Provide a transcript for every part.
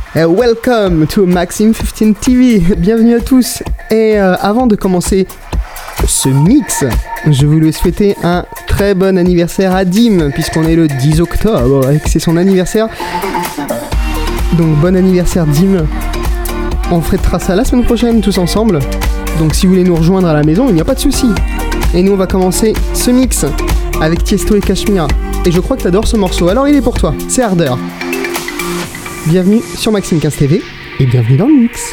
Welcome to Maxime 15 TV, bienvenue à tous. Et avant de commencer ce mix, je voulais souhaiter un très bon anniversaire à Dim, puisqu'on est le 10 octobre et que c'est son anniversaire. Donc bon anniversaire Dim. On fêtera ça la semaine prochaine tous ensemble. Donc si vous voulez nous rejoindre à la maison, il n'y a pas de souci. Et nous on va commencer ce mix avec Tiesto et Cashmere. Et je crois que t'adores ce morceau, alors il est pour toi, c'est Harder. Bienvenue sur Maxime 15 TV et bienvenue dans le mix.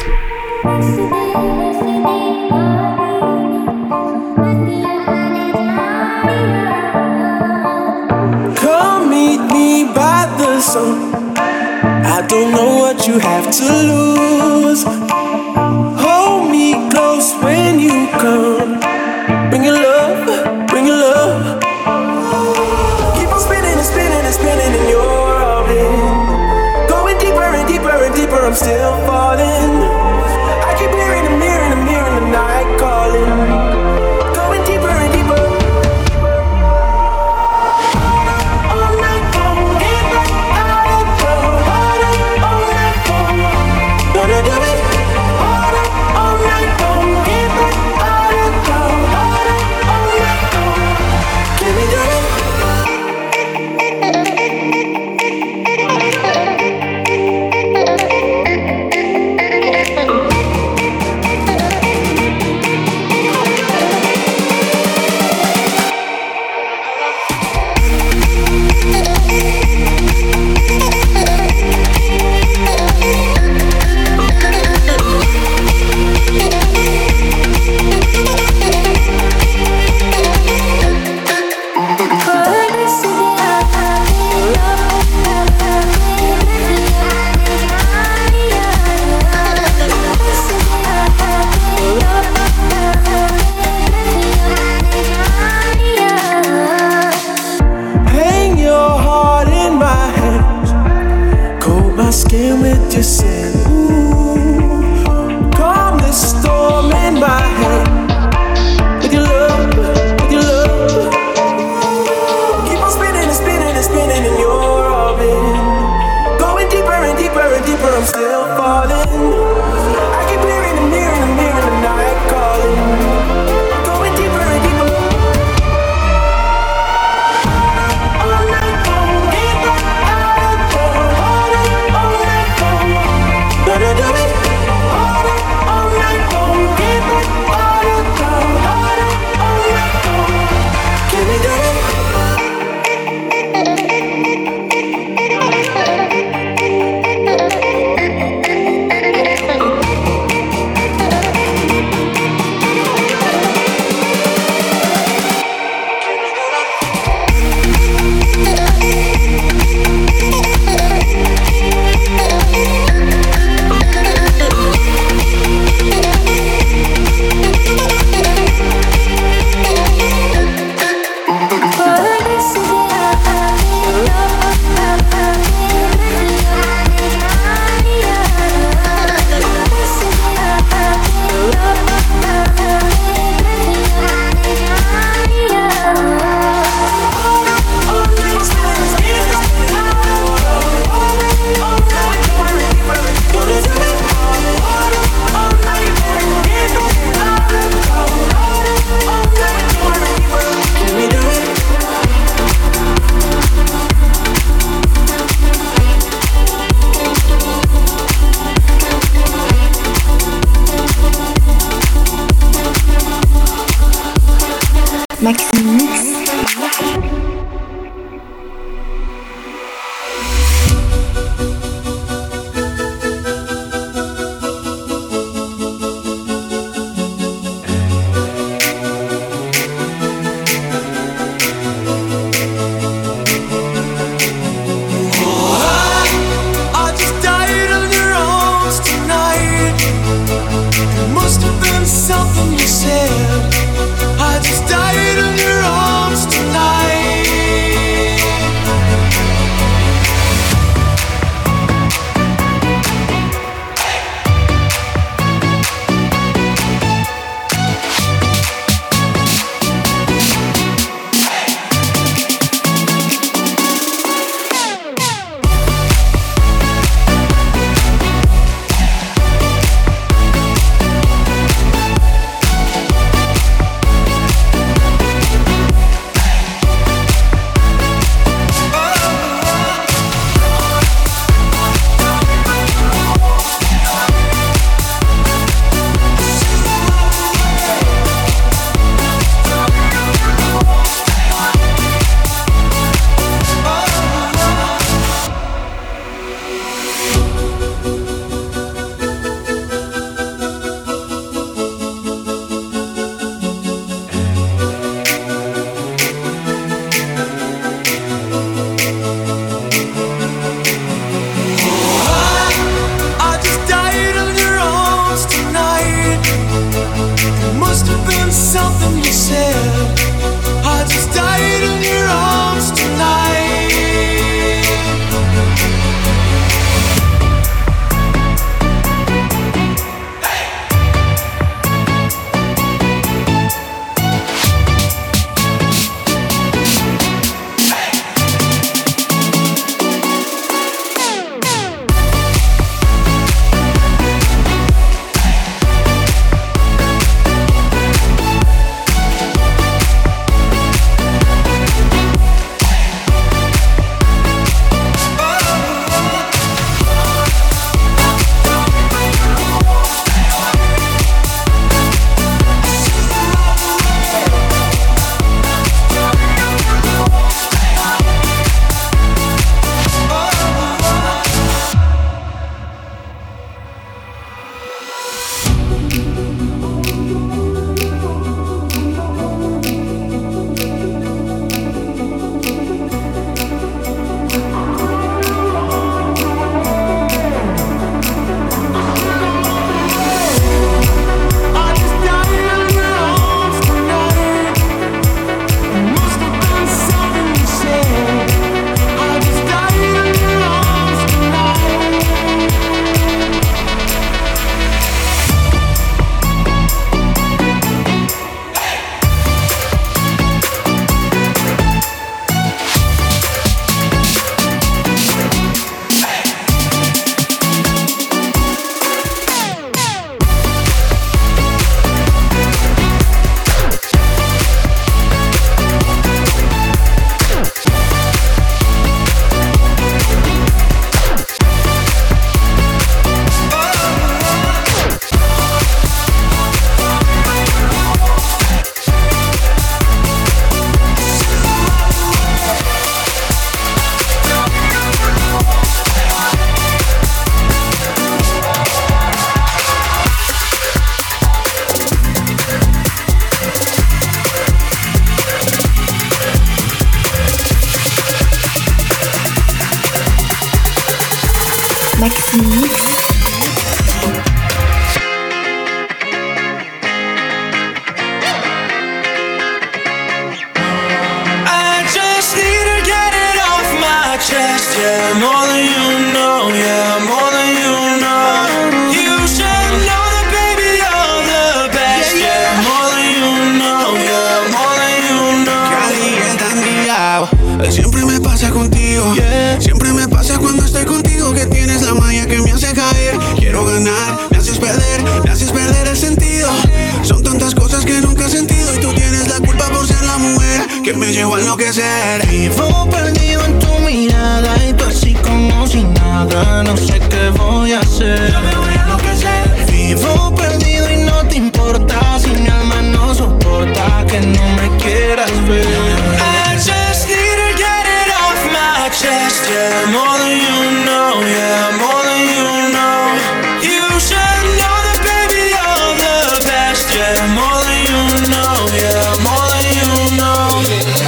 Come meet me by the sun. I don't know what you have to lose. Hold me close when you come. Bring your love, bring your love. Keep on spinning and spinning and spinning in your orbit. Deeper and deeper, I'm still falling. I keep hearing the mirror in the night calling. Going deeper and deeper. All night long, get back out of the water. All night long, gonna do it. Harder, all night long, get back out of the water. All night long, can we do it? Skin with your sin. Ooh, calm the storm in my head. With your love, with your love. Keep on spinning and spinning and spinning in your orbit. Going deeper and deeper and deeper, I'm still falling. I keep hearing the mirror in the night calling. Going deeper and deeper. Maxime Mix. Chest, yeah, more than you know, yeah, more than you know. You should know that, baby, you're the best, yeah, more than you know, yeah, more than you know. Cada día tan guiado, siempre me pasa contigo, siempre me pasa cuando estoy contigo, que tienes la magia que me hace caer. Quiero ganar, me haces perder el sentido. Son tantas cosas que nunca he sentido y tú tienes la culpa por ser la mujer que me llevó a enloquecer. Vivo perdido en tu mirada y tú así como si nada. No sé qué voy a hacer. Yo me voy a enloquecer. Vivo perdido y no te importa si mi alma no soporta que no me quieras ver. I just need to get it off my chest, yeah, more than you know, yeah, more than you know. You should know that, baby, you're the best, yeah, more than you know, yeah, more than you know.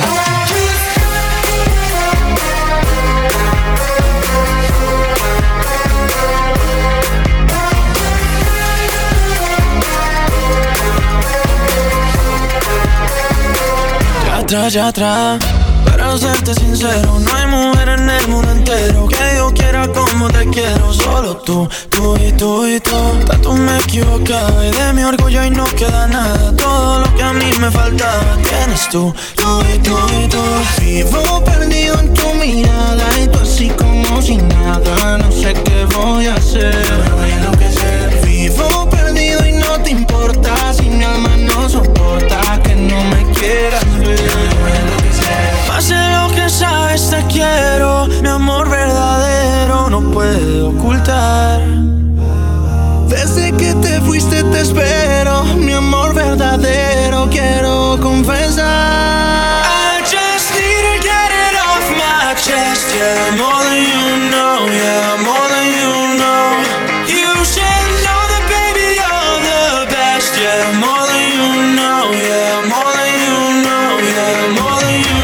Ya atrás, para serte sincero, no hay mujer en el mundo entero que yo quiera como te quiero. Solo tú, tú y tú y tú. Tanto me equivocaba y de mi orgullo y no queda nada. Todo lo que a mí me faltaba tienes tú, tú y tú y tú. Vivo perdido en tu mirada y tú así como si nada. No sé qué voy a hacer. Me voy a enloquecer. Vivo perdido y no te importa si mi alma no soporta que no me quieras ver. Más de lo que sabes te quiero, mi amor verdadero no puedo ocultar. Desde que te fuiste te espero, mi amor verdadero quiero confesar. I just need to get it off my chest, yeah, more than you know, yeah, more than you know. You should know that, baby, you're the best, yeah, more than you know, yeah, more than you know, yeah, more than you know.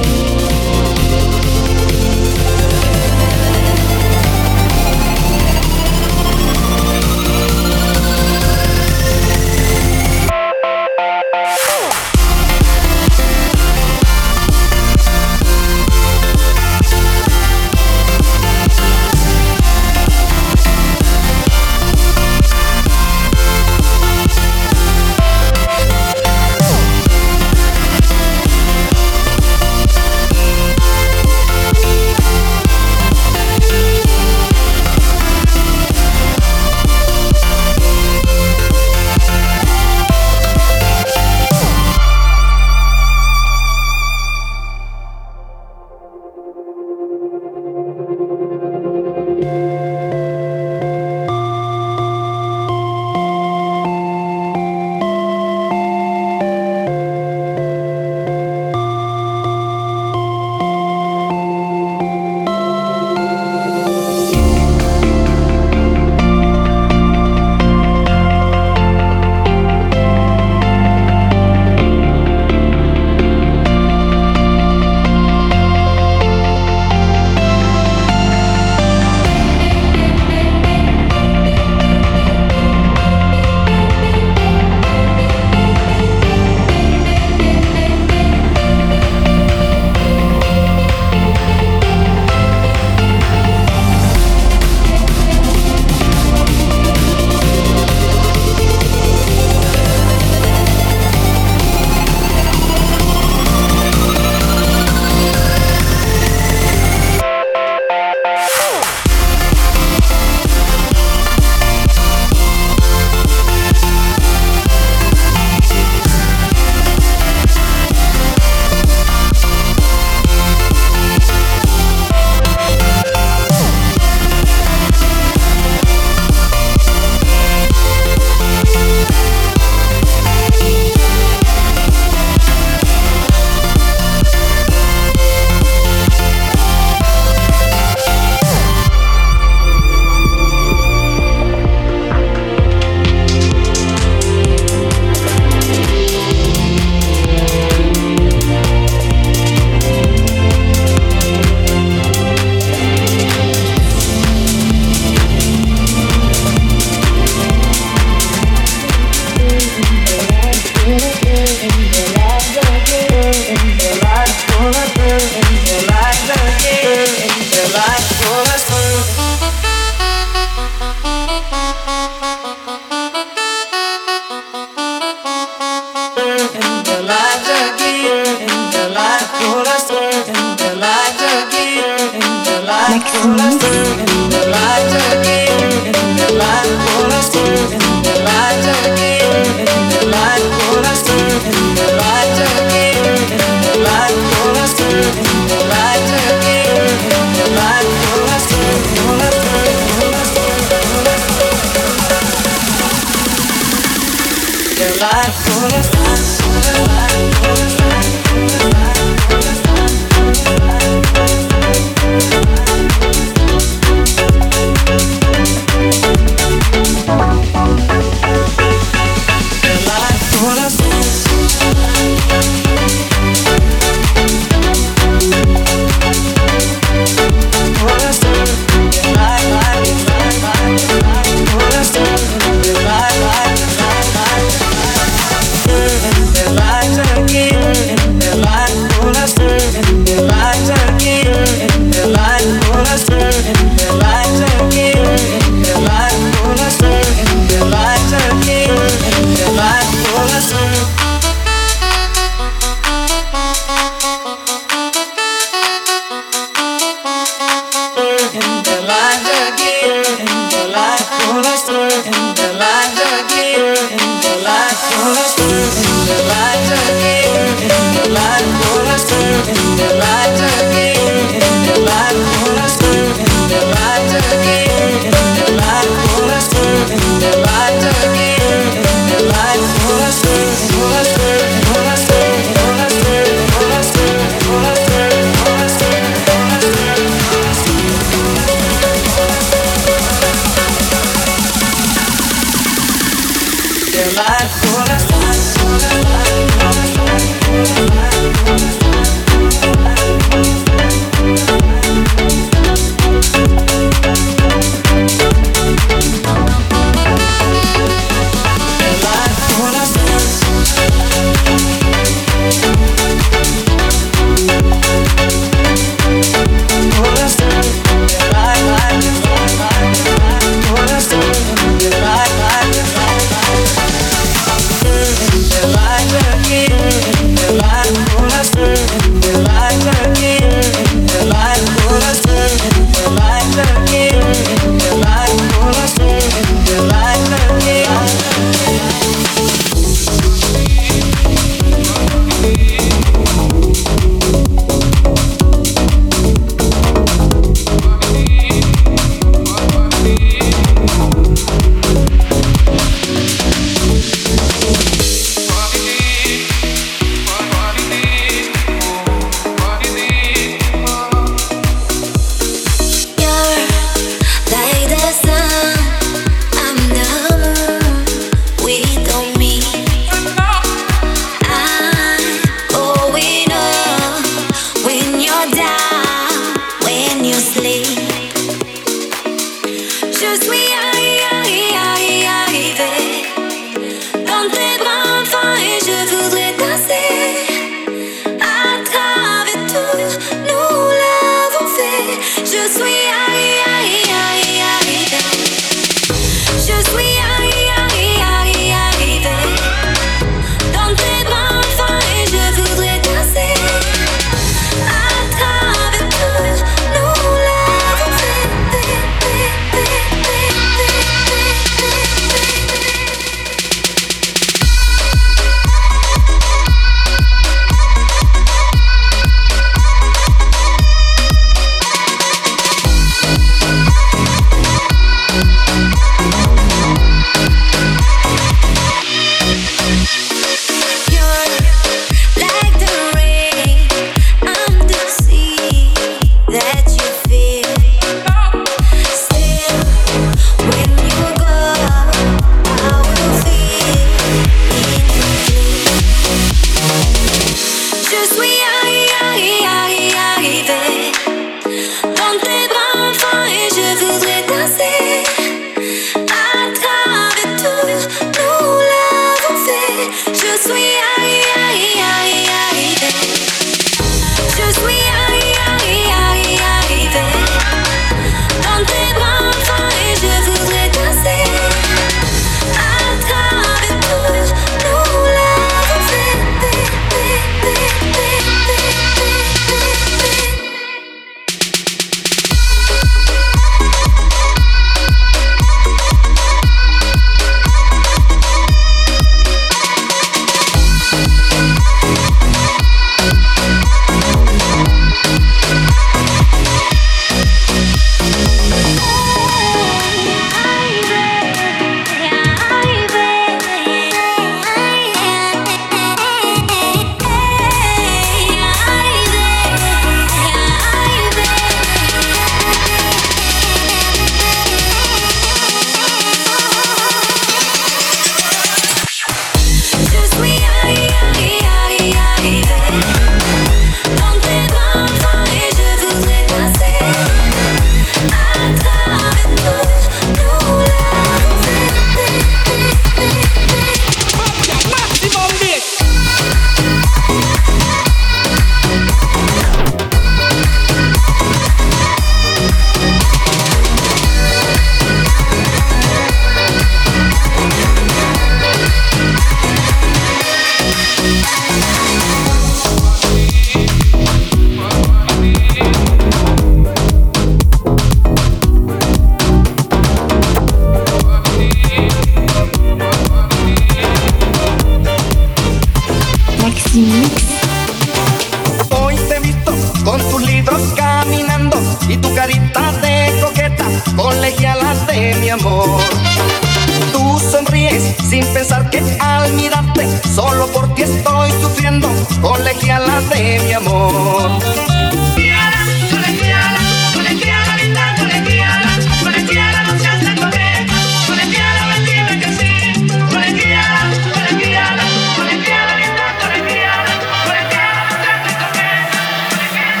tienes sin pensar que al mirarte solo por ti estoy sufriendo, colegiala de mi amor. Colegiala, colegiala, colegiala, linda colegiala, colegiala, no seas tan coqueta, colegiala, ven dime que sí, colegiala, colegiala, colegiala, linda colegiala, colegiala, no seas tan coqueta, colegiala,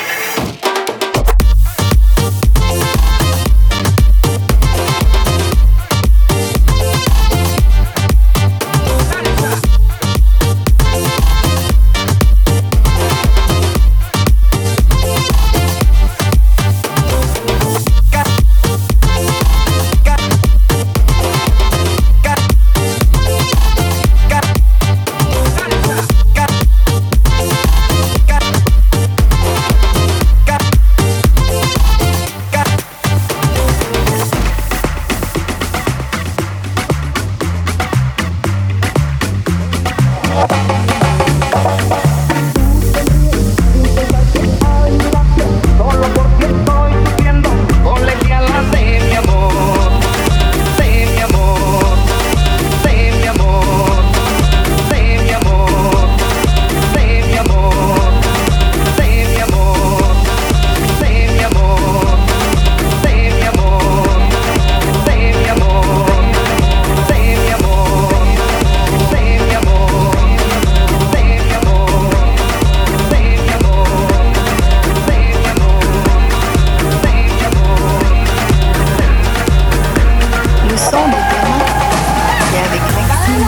Solo por ti estoy sufriendo, colegiala de mi amor, de mi amor, de mi amor, de mi amor, de mi amor, de mi amor, de mi amor, de mi amor, de mi amor, de mi amor, de mi amor, de mi amor, de mi amor, de mi amor. Le son de Théma et avec Maxime.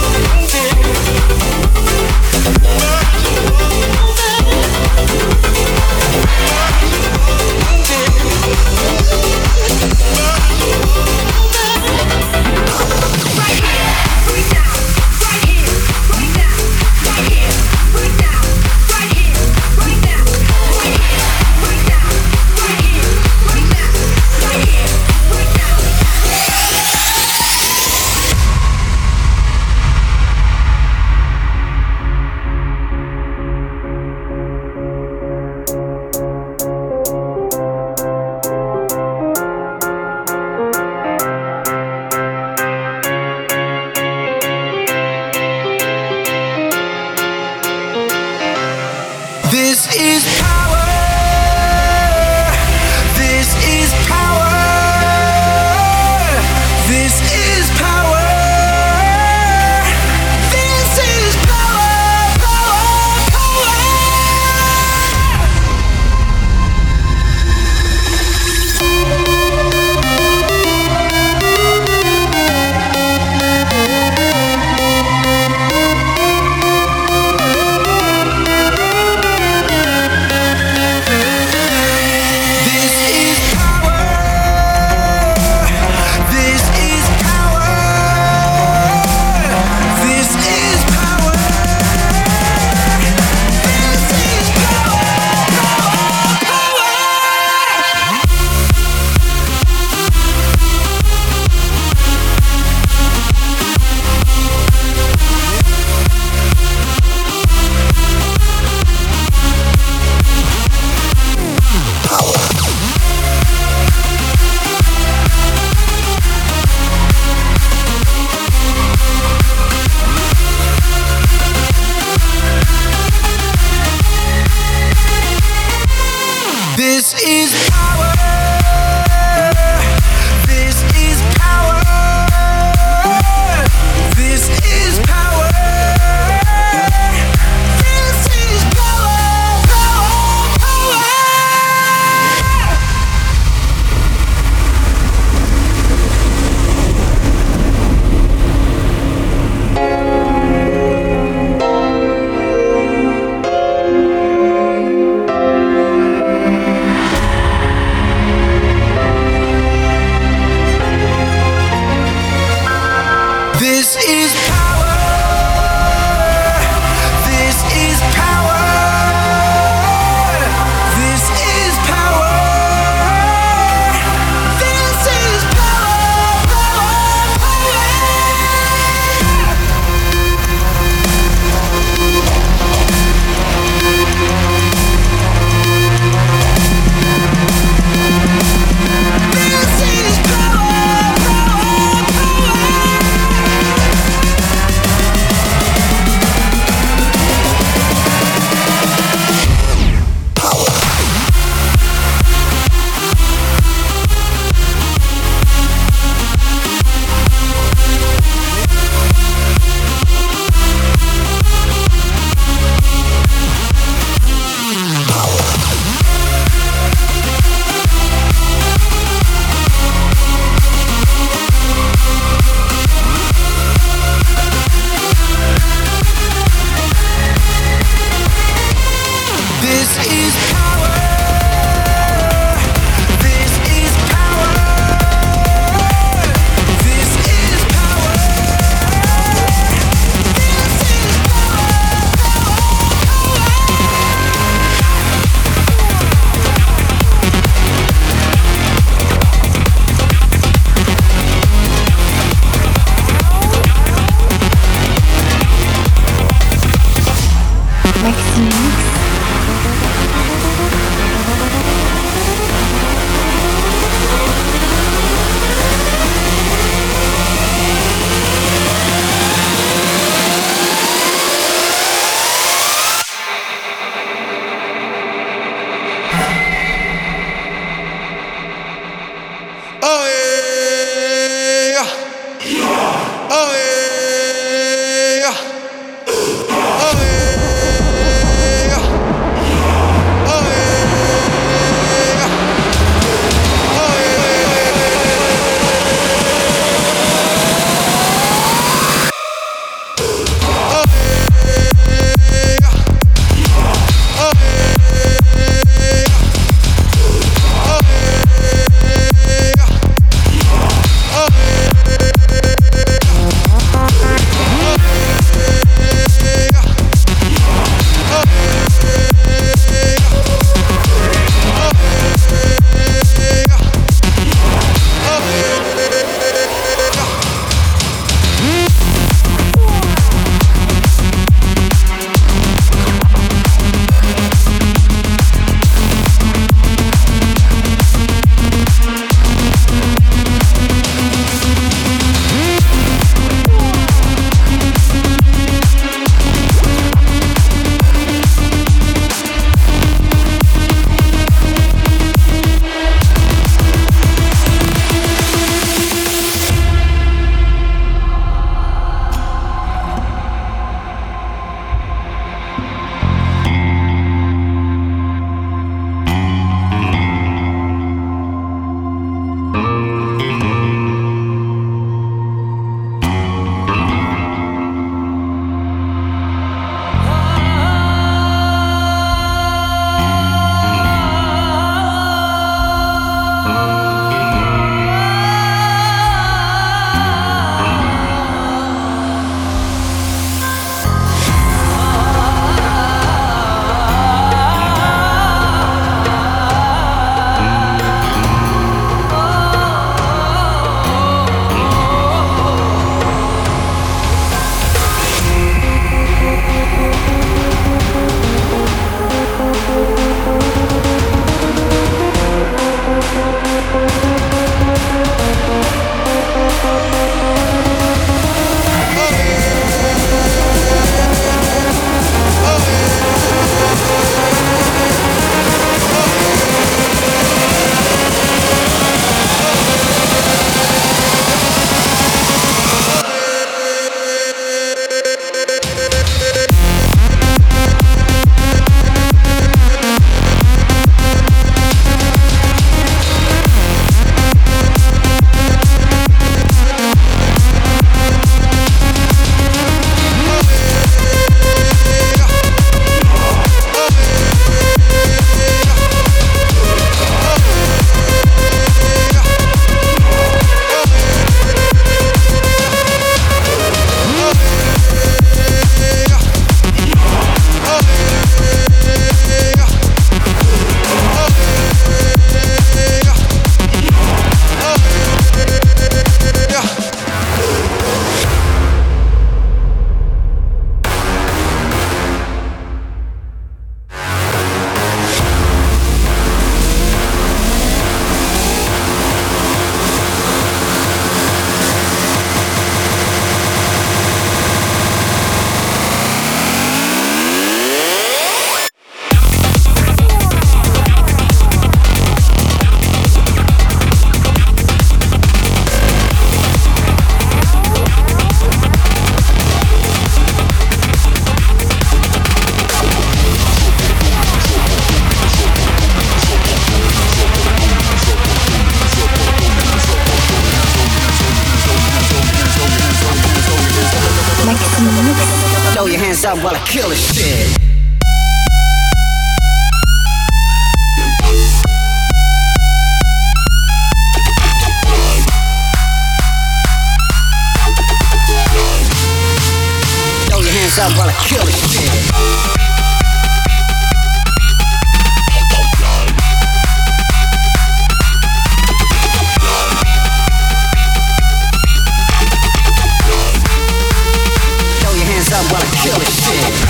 This is power. This is power. This is power. This is power. Power. Power. This is power. Power. This is power. This is power. This is power. This is Maxime Mix. Oh yeah. Oh yeah. Oh yeah. Oh yeah. hands up while I kill this shit. Throw your hands up while I kill this shit. Up while I kill this shit.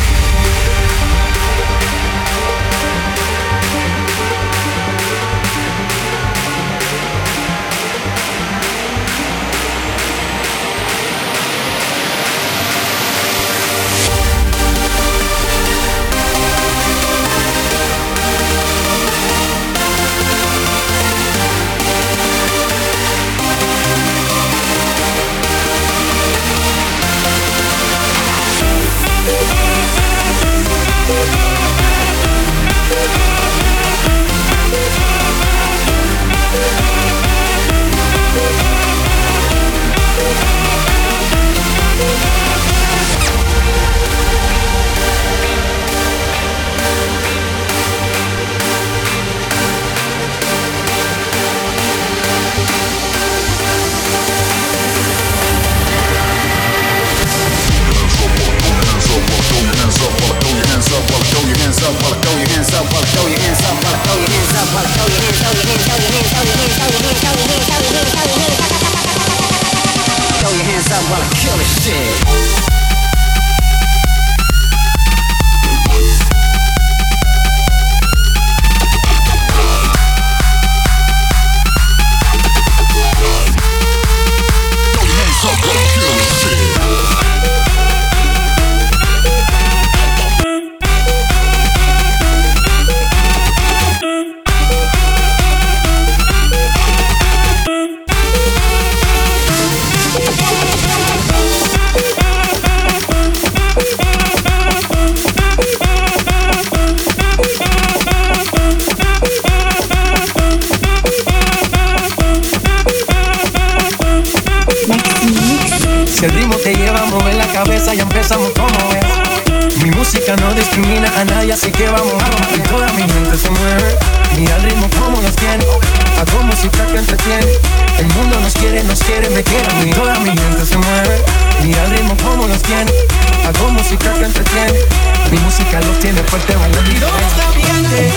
Si el ritmo te lleva a mover la cabeza, ya empezamos como es. Mi música no discrimina a nadie, así que vamos a romper. Toda mi mente se mueve. Mira el ritmo como nos tiene. Hago música que entretiene. El mundo nos quiere, me quiere a mí. Toda mi mente se mueve. Mira el ritmo como nos tiene. Hago música que entretiene. Mi música los tiene fuerte bailando. ¿Y dónde está mi gente?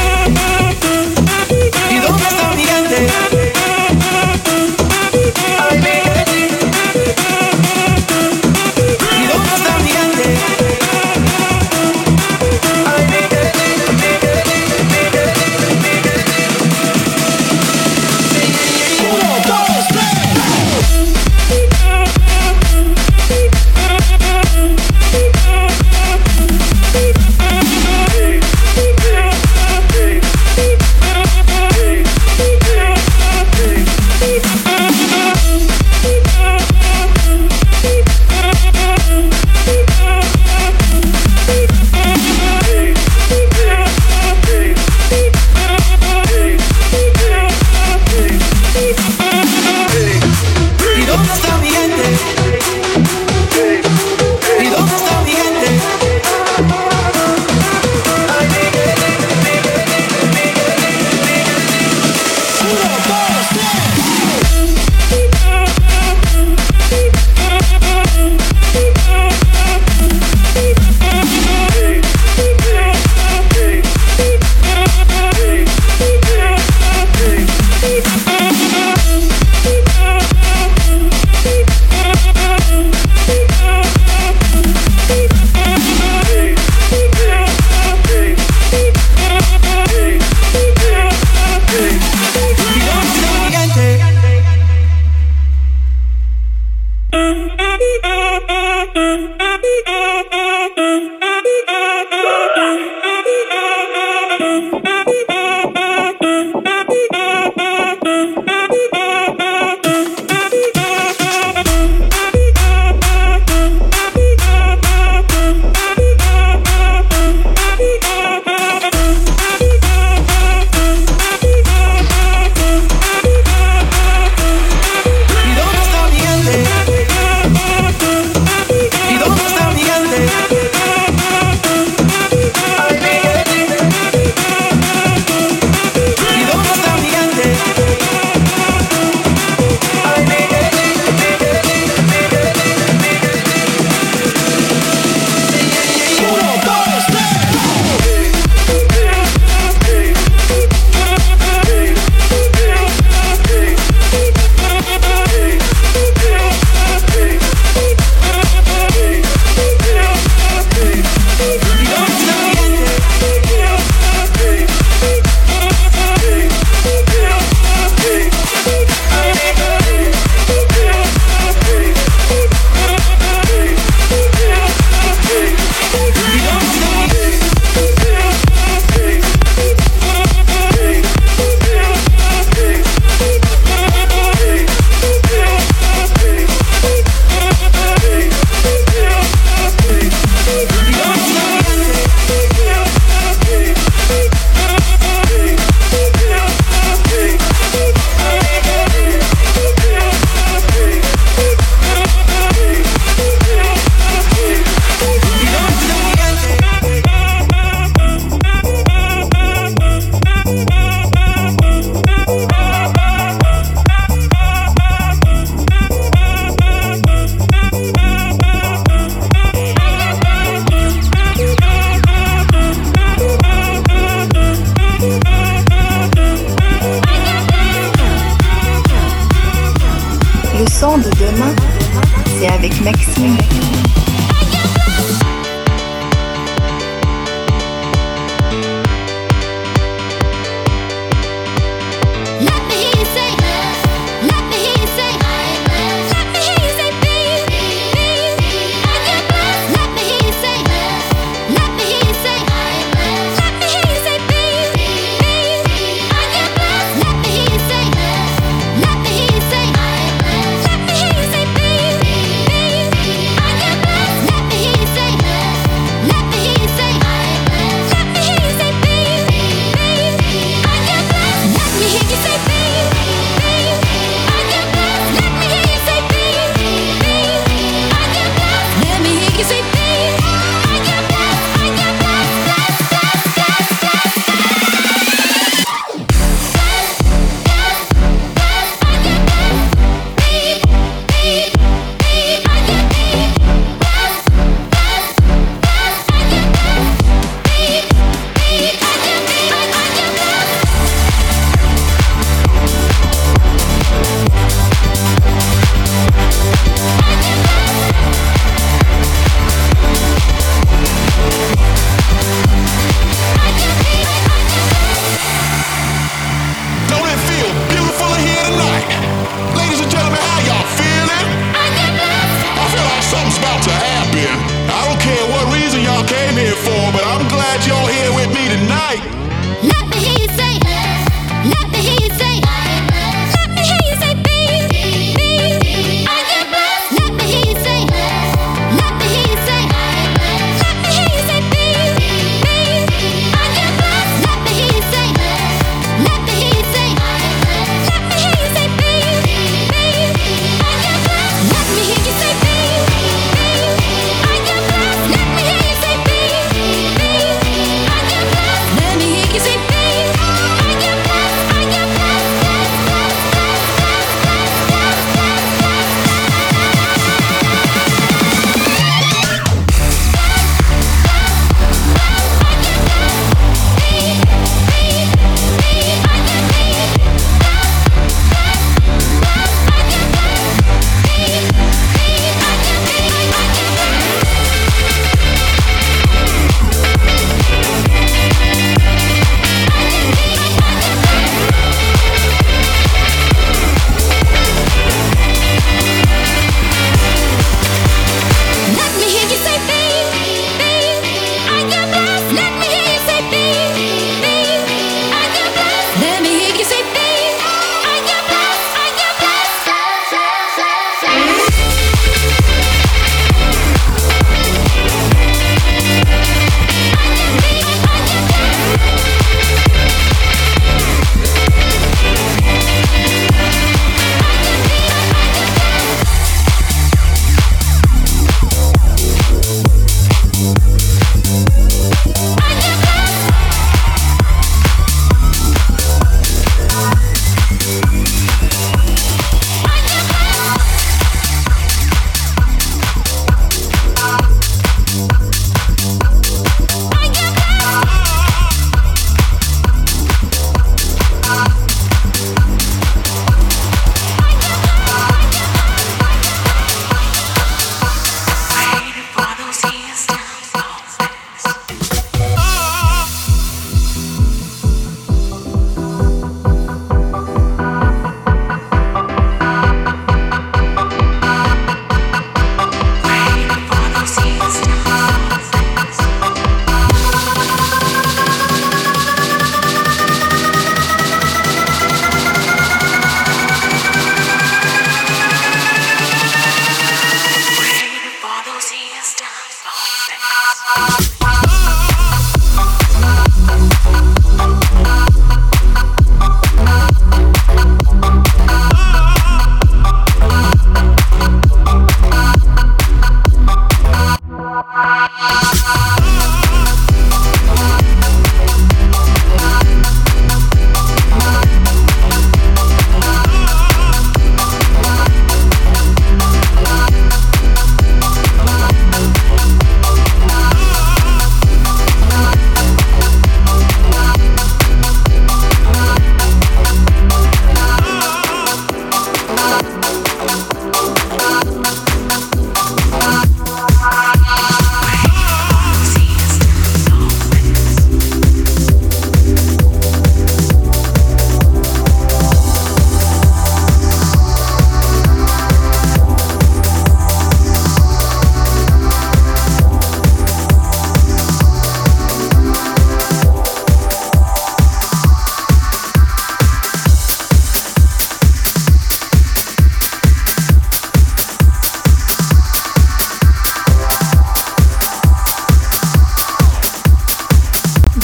¿Y dónde está mi gente? demain, c'est avec Maxime.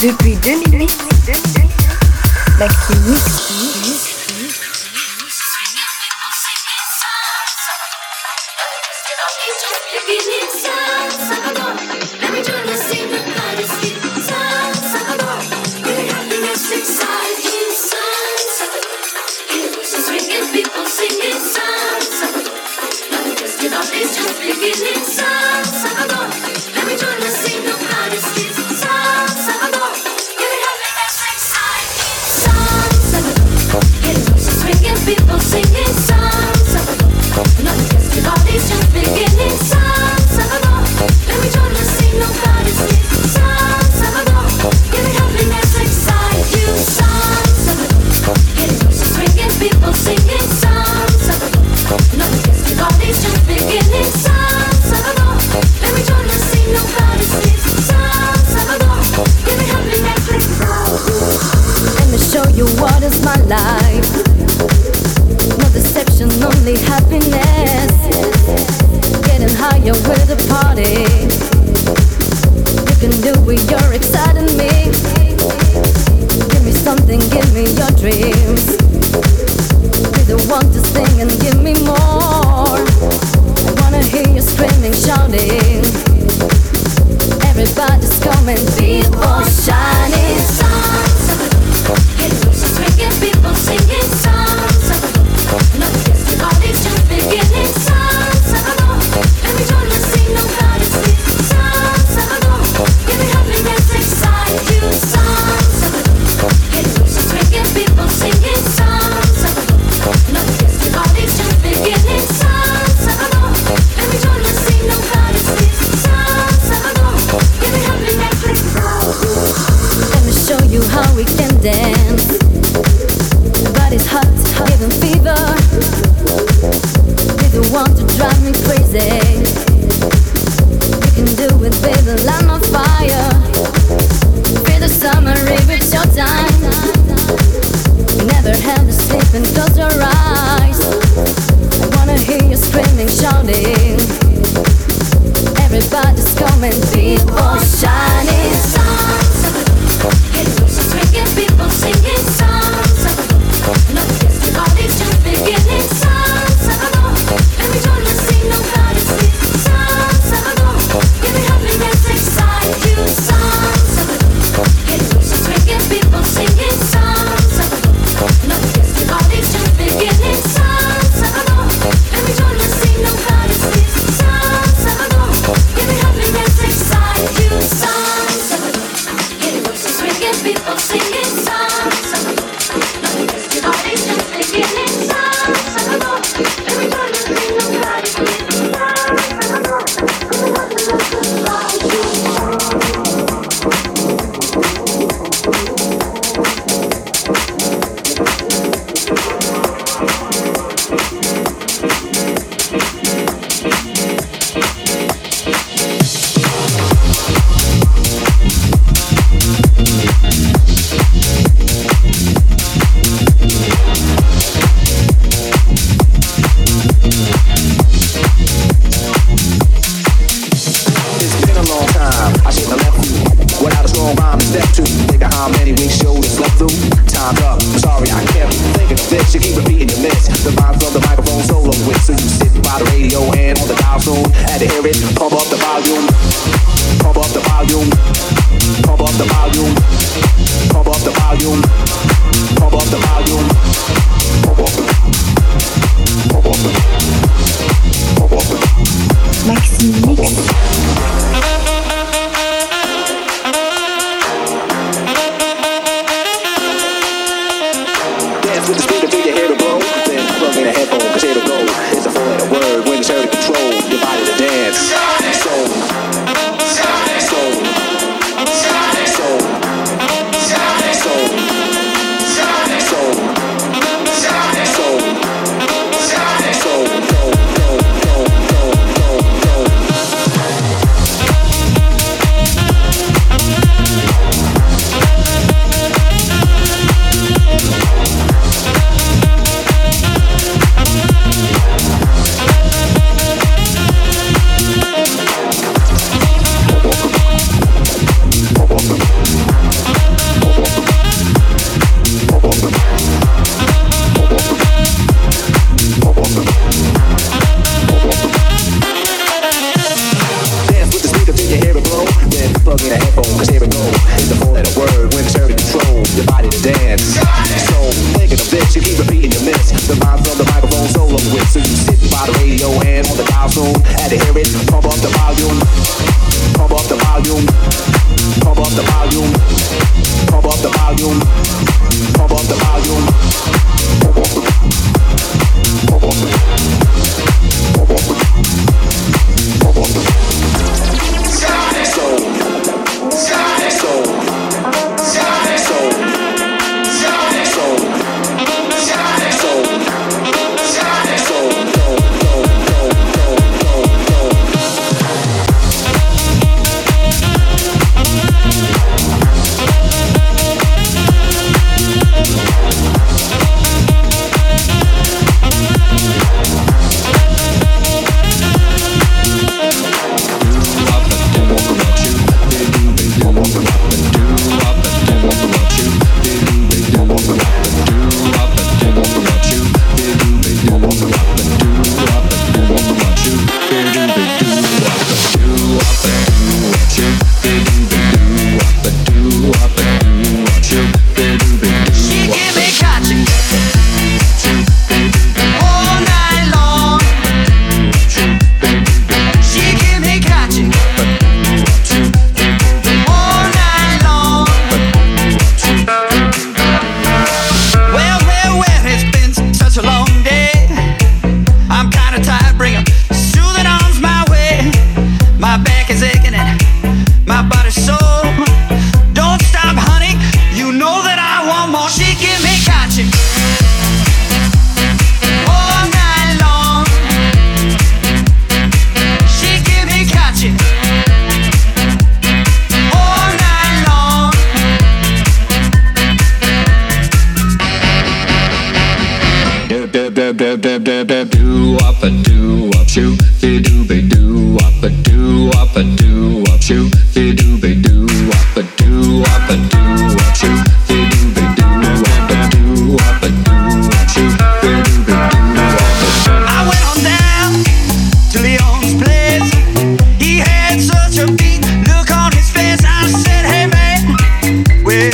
Depuis 2008, Maxime Mix. People singing songs of nothing gets with all these just beginning songs of let me join the scene, nobody sleep songs of give me happiness, excite you songs of getting voices ringing, people singing songs of nothing gets with all these just beginning songs of let me join the scene, nobody sleep songs of give me happiness, let me show you what is my life. No deception, only happiness. Getting higher with the party. You can do it, you're exciting me. Give me something, give me your dreams. Be the one to sing and give me more. I wanna hear you screaming, shouting. Everybody's coming, people shining. Songs of getting voices ringing, people singing songs. Nothing gets with all these just beginning songs let me join the scene, nobody sleep songs give me happiness, excite you songs getting voices ringing, people singing songs nothing gets with all these just beginning songs let me join the scene, nobody sleep songs give me happiness, let me show you how we can dance. Body's hot, giving fever. You're the one to drive me crazy. You can do it, baby, light my fire. Feel the summer if it's your time. Never have to sleep and close your eyes. I wanna hear you screaming, shouting. Everybody's coming, people shining. Songs getting voices ringing, people singing songs. Nothing gets with all these just beginning songs let me join the scene, nobody sleep songs give me happiness, excite you songs getting voices ringing, people singing songs nothing gets with all these just beginning songs let me join the scene, nobody sleep songs give me happiness, excite you songs getting voices ringing, people singing songs nothing gets with all these just beginning songs let me join the scene, nobody sleep You keep repeating your miss. The rhymes on the microphone solo with. So you sit by the radio and on the dial soon. Had to hear it. Pump up the volume. Pump up the volume. Pump up the volume. Pump up the volume. Pump up the volume. Pump up the volume. Pump up the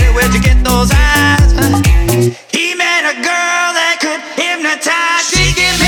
He met a girl that could hypnotize. She gave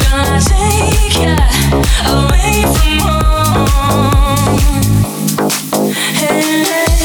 gonna take ya away from home. Hey.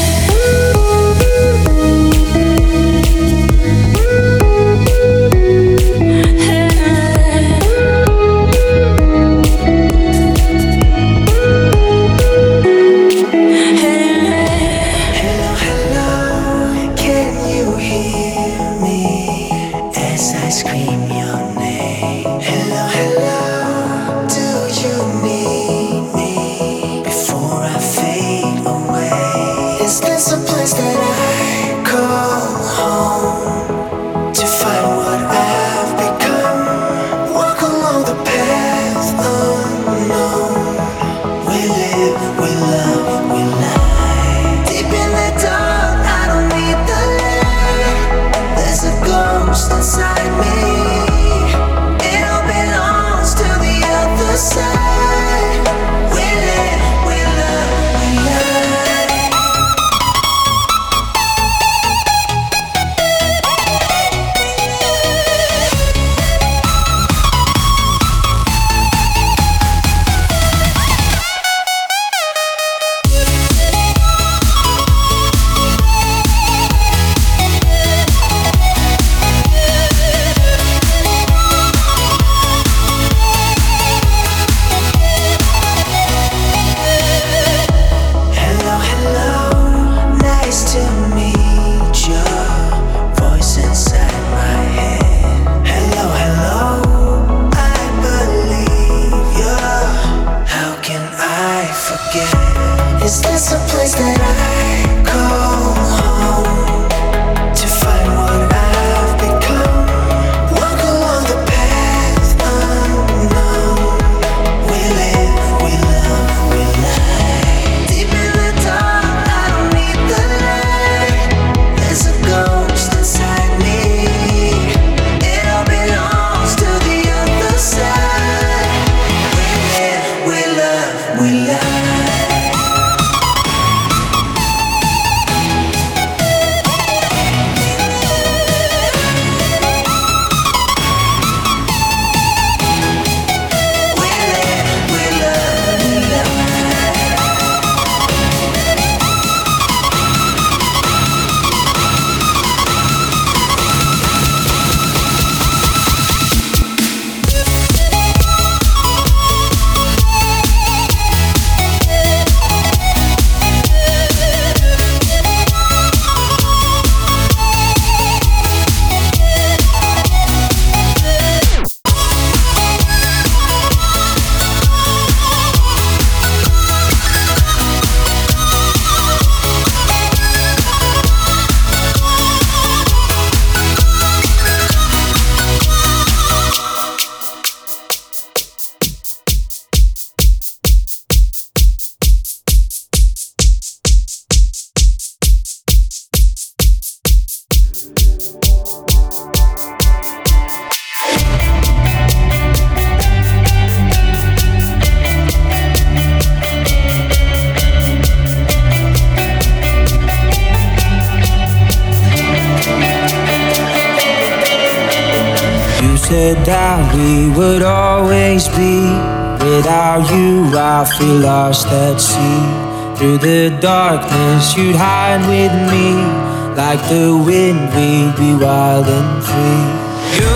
said that we would always be. Without you, I feel lost at sea. Through the darkness, you'd hide with me. Like the wind, we'd be wild and free. You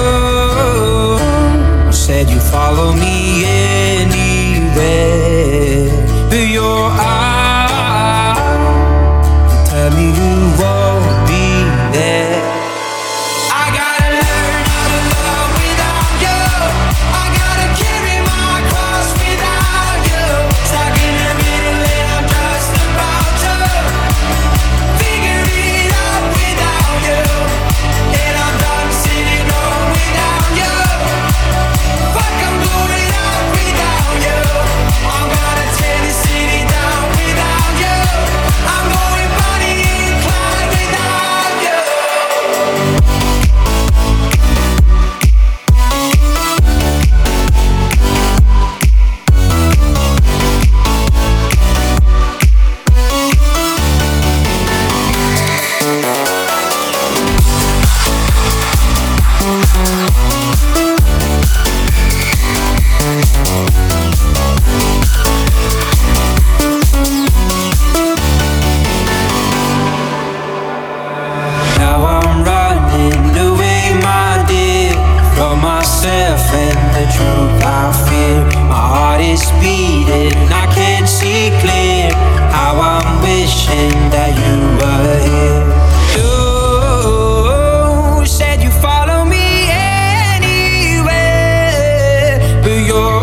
said you'd follow me anywhere. But your eyes tell me you won't be there. I'm is beating. I can't see clear how I'm wishing that you were here. You said you follow me anywhere, but your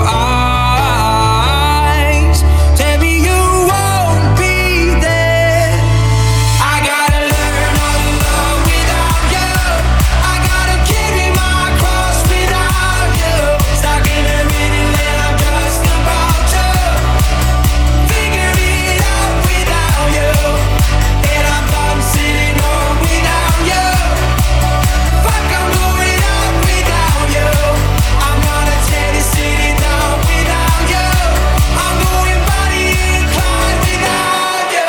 eyes tell me you won't be there. I gotta learn how to love without you. I gotta carry my cross without you. Stuck in a middle and I'm just about to figure it out without you. And I'm done sitting home without you. Fuck, I'm going out without you. I'm gonna tear this city down without you. I'm going body inclined without you.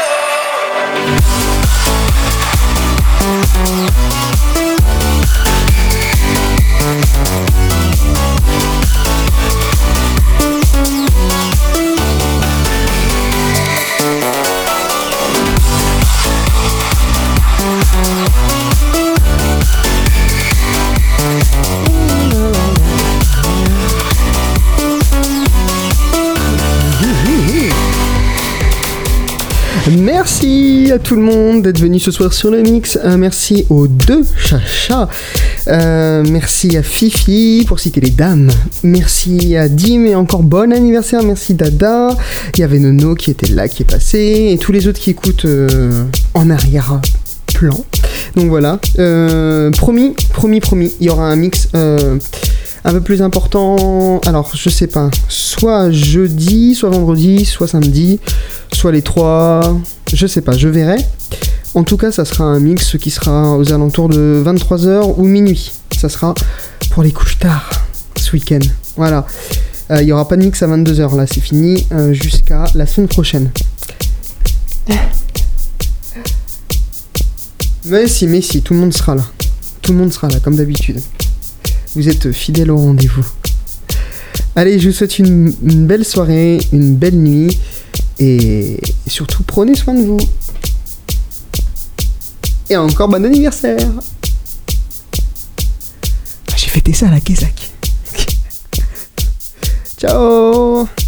Merci à tout le monde d'être venu ce soir sur le mix. Merci aux deux chachas. Merci à Fifi pour citer les dames. Merci à Dim et encore bon anniversaire. Merci Dada. Il y avait Nono qui était là, qui est passé. Et tous les autres qui écoutent en arrière-plan. Donc voilà. Promis. Il y aura un mix un peu plus important. Alors je sais pas. Soit jeudi, soit vendredi, soit samedi. Soit les trois, je sais pas, je verrai. En tout cas, ça sera un mix qui sera aux alentours de 23h ou minuit. Ça sera pour les couches tard, ce week-end. Voilà. Il n'y aura pas de mix à 22h, là, c'est fini, jusqu'à la semaine prochaine. Mais si, tout le monde sera là. Tout le monde sera là, comme d'habitude. Vous êtes fidèles au rendez-vous. Allez, je vous souhaite une belle soirée, une belle nuit. Et surtout, prenez soin de vous. Et encore bon anniversaire. J'ai fêté ça à la Kézak. Ciao.